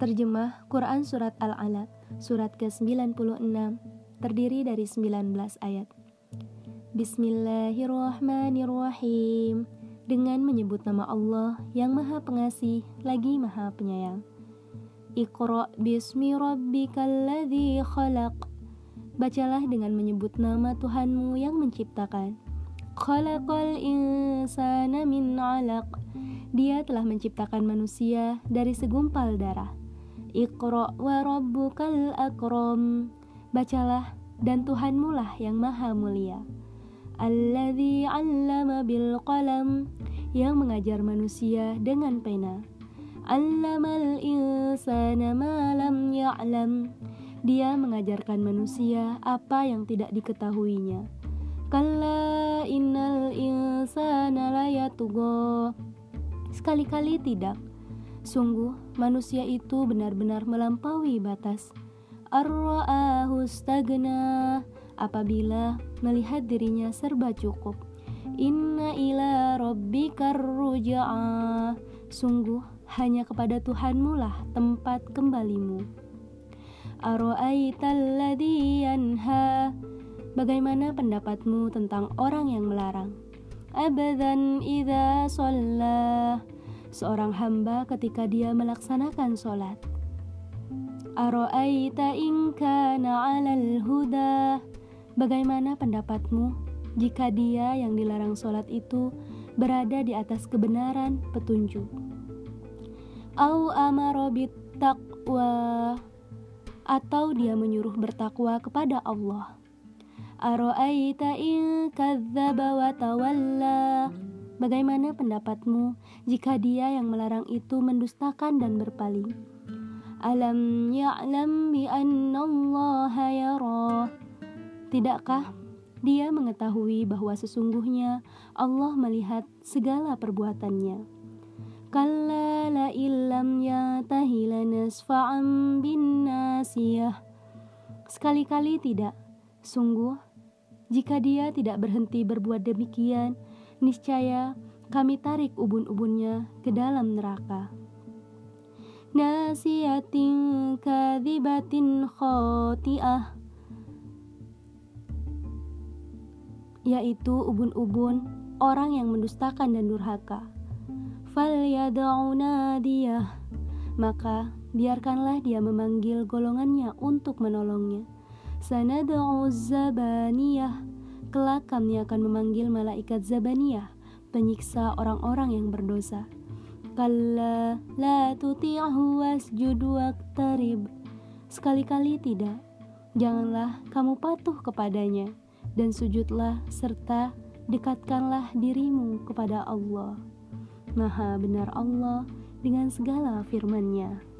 Terjemah Quran Surat Al-Alaq, surat ke-96, terdiri dari 19 ayat. Bismillahirrahmanirrahim. Dengan menyebut nama Allah yang Maha Pengasih lagi Maha Penyayang. Iqra bismi rabbikal ladzi khalaq. Bacalah dengan menyebut nama Tuhanmu yang menciptakan. Khalaqal insana min 'alaq. Dia telah menciptakan manusia dari segumpal darah. Iqra wa rabbukal akram. Bacalah, dan Tuhanmu lah yang maha mulia. Alladzi 'allama bil qalam. Yang mengajar manusia dengan pena. 'Allamal insana ma lam ya'lam. Dia mengajarkan manusia apa yang tidak diketahuinya. Kalla innal insana layatgha. Sekali-kali tidak. Sungguh, manusia itu benar-benar melampaui batas. Ar-ra'ahu istaghna. Apabila melihat dirinya serba cukup. Inna ila rabbikar ruj'a. Sungguh, hanya kepada Tuhanmu lah tempat kembalimu. Ara'aital ladzi yanha. Bagaimana pendapatmu tentang orang yang melarang? Abadan idza shalla. Seorang hamba ketika dia melaksanakan sholat. Ara'aita in kana 'alal huda. Bagaimana pendapatmu jika dia yang dilarang sholat itu berada di atas kebenaran petunjuk? Au amara bittaqwa. Atau dia menyuruh bertakwa kepada Allah. Ara'aita in kadzdzaba wa tawalla. Bagaimana pendapatmu jika dia yang melarang itu mendustakan dan berpaling? Alam ya'lam bi annallaha yara. Tidakkah dia mengetahui bahwa sesungguhnya Allah melihat segala perbuatannya? Kalla la illam yantahi lanasfa'an bin nasiyah. Sekali-kali tidak. Sungguh, jika dia tidak berhenti berbuat demikian, niscaya kami tarik ubun-ubunnya ke dalam neraka. Nasiyatin kadzibatin khati'ah. Yaitu ubun-ubun orang yang mendustakan dan durhaka. Falyad'u nadiyah. Maka biarkanlah dia memanggil golongannya untuk menolongnya. Sanad'u zabaniyah. Kelak kami akan memanggil malaikat Zabaniyah, penyiksa orang-orang yang berdosa. Kalla la tuti'hu wasjud waqtarib. Sekali-kali tidak. Janganlah kamu patuh kepadanya, dan sujudlah serta dekatkanlah dirimu kepada Allah. Maha benar Allah dengan segala firman-Nya.